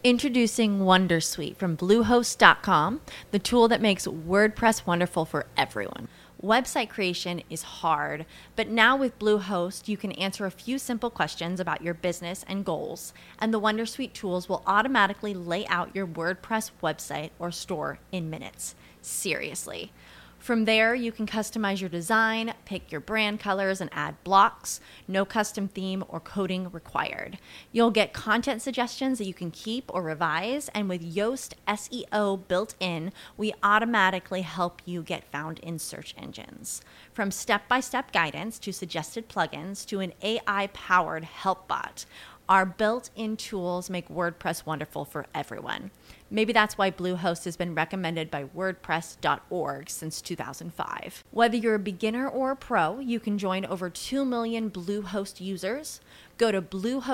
Introducing Wondersuite from Bluehost.com, the tool that makes WordPress wonderful for everyone. Website creation is hard, but now with Bluehost, you can answer a few simple questions about your business and goals, and the Wondersuite tools will automatically lay out your WordPress website or store in minutes. Seriously. From there, you can customize your design, pick your brand colors, and add blocks. No custom theme or coding required. You'll get content suggestions that you can keep or revise, and with Yoast SEO built in, we automatically help you get found in search engines. From step-by-step guidance to suggested plugins to an AI-powered help bot, our built-in tools make WordPress wonderful for everyone. Maybe that's why Bluehost has been recommended by WordPress.org since 2005. Whether you're a beginner or a pro, you can join over 2 million Bluehost users. Go to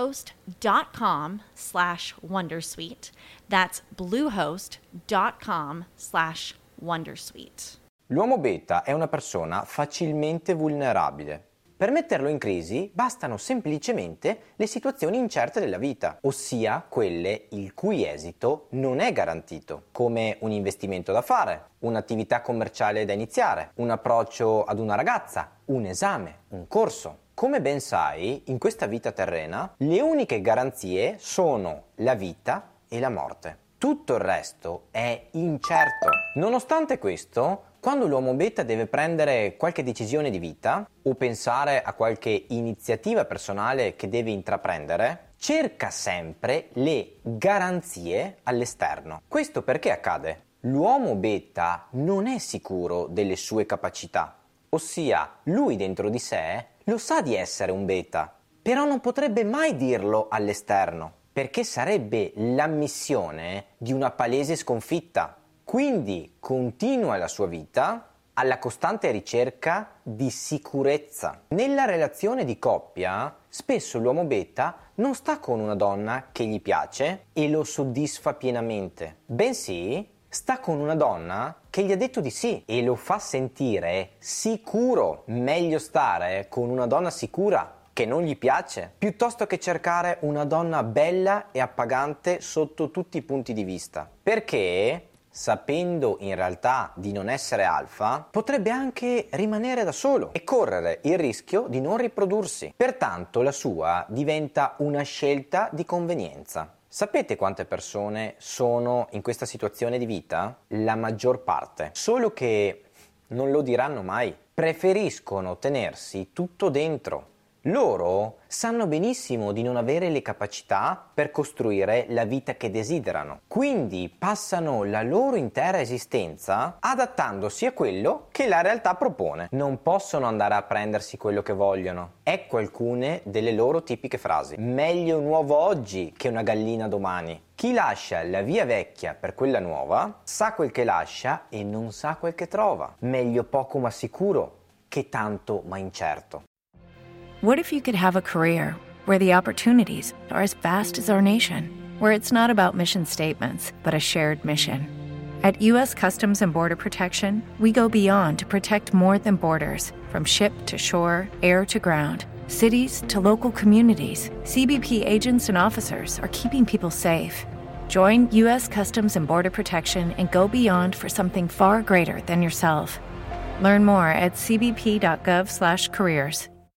bluehost.com/wondersuite. That's bluehost.com/wondersuite. L'uomo beta è una persona facilmente vulnerabile. Per metterlo in crisi bastano semplicemente le situazioni incerte della vita, ossia quelle il cui esito non è garantito, come un investimento da fare, un'attività commerciale da iniziare, un approccio ad una ragazza, un esame, un corso. Come ben sai, in questa vita terrena, le uniche garanzie sono la vita e la morte. Tutto il resto è incerto. Nonostante questo, quando l'uomo beta deve prendere qualche decisione di vita o pensare a qualche iniziativa personale che deve intraprendere, cerca sempre le garanzie all'esterno. Questo perché accade? L'uomo beta non è sicuro delle sue capacità, ossia lui dentro di sé lo sa di essere un beta, però non potrebbe mai dirlo all'esterno, perché sarebbe l'ammissione di una palese sconfitta. Quindi continua la sua vita alla costante ricerca di sicurezza. Nella relazione di coppia, spesso l'uomo beta non sta con una donna che gli piace e lo soddisfa pienamente, bensì sta con una donna che gli ha detto di sì e lo fa sentire sicuro. Meglio stare con una donna sicura che non gli piace, piuttosto che cercare una donna bella e appagante sotto tutti i punti di vista. Perché, sapendo in realtà di non essere alfa, potrebbe anche rimanere da solo e correre il rischio di non riprodursi. Pertanto la sua diventa una scelta di convenienza. Sapete quante persone sono in questa situazione di vita? La maggior parte. Solo che non lo diranno mai. Preferiscono tenersi tutto dentro. Loro sanno benissimo di non avere le capacità per costruire la vita che desiderano, quindi passano la loro intera esistenza adattandosi a quello che la realtà propone. Non possono andare a prendersi quello che vogliono. Ecco alcune delle loro tipiche frasi. Meglio un uovo oggi che una gallina domani. Chi lascia la via vecchia per quella nuova sa quel che lascia e non sa quel che trova. Meglio poco ma sicuro che tanto ma incerto. What if you could have a career where the opportunities are as vast as our nation, where it's not about mission statements, but a shared mission? At U.S. Customs and Border Protection, we go beyond to protect more than borders. From ship to shore, air to ground, cities to local communities, CBP agents and officers are keeping people safe. Join U.S. Customs and Border Protection and go beyond for something far greater than yourself. Learn more at cbp.gov/careers.